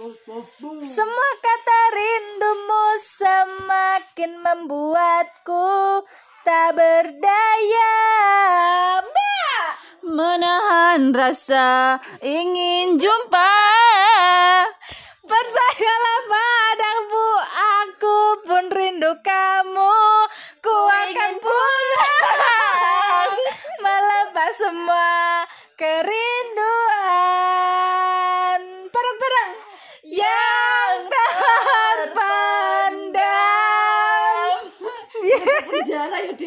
Semua kata rindumu semakin membuatku tak berdaya menahan rasa ingin jumpa. Percayalah padaku, aku pun rindu kamu. Ku akan pulang melepas semua kerinduan. Bareng-bareng yang terpendam.